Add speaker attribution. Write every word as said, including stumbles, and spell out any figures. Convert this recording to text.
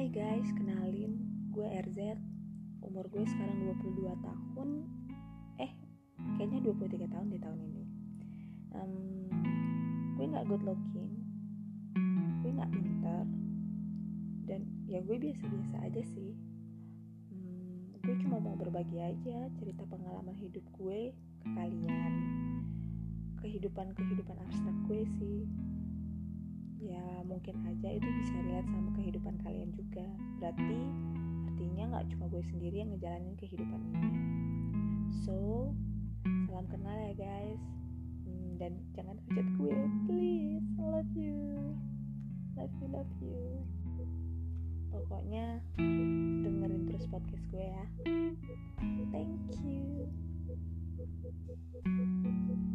Speaker 1: Hai guys, kenalin, gue R Z. Umur gue sekarang dua puluh dua tahun. Eh, kayaknya dua puluh tiga tahun di tahun ini. um, Gue gak good looking, gue gak pintar, dan ya gue biasa-biasa aja sih. um, Gue cuma mau berbagi aja cerita pengalaman hidup gue ke kalian. Kehidupan-kehidupan abstrak gue sih. Ya mungkin aja itu bisa relate sama kehidupan kalian juga. Berarti artinya gak cuma gue sendiri yang ngejalanin kehidupan ini. So, salam kenal ya guys. hmm, Dan jangan hujat gue, please. I love you. Love you, love you. Pokoknya dengerin terus podcast gue ya. Thank you.